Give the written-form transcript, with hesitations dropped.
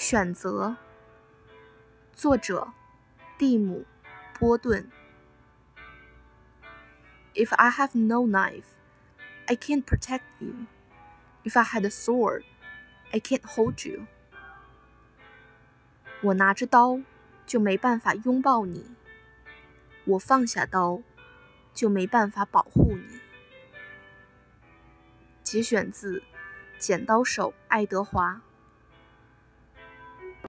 选择，作者蒂姆·波顿。If I have no knife, I can't protect you. If I had a sword, I can't hold you. 我拿着刀就没办法拥抱你，我放下刀就没办法保护你。节选自《剪刀手爱德华》。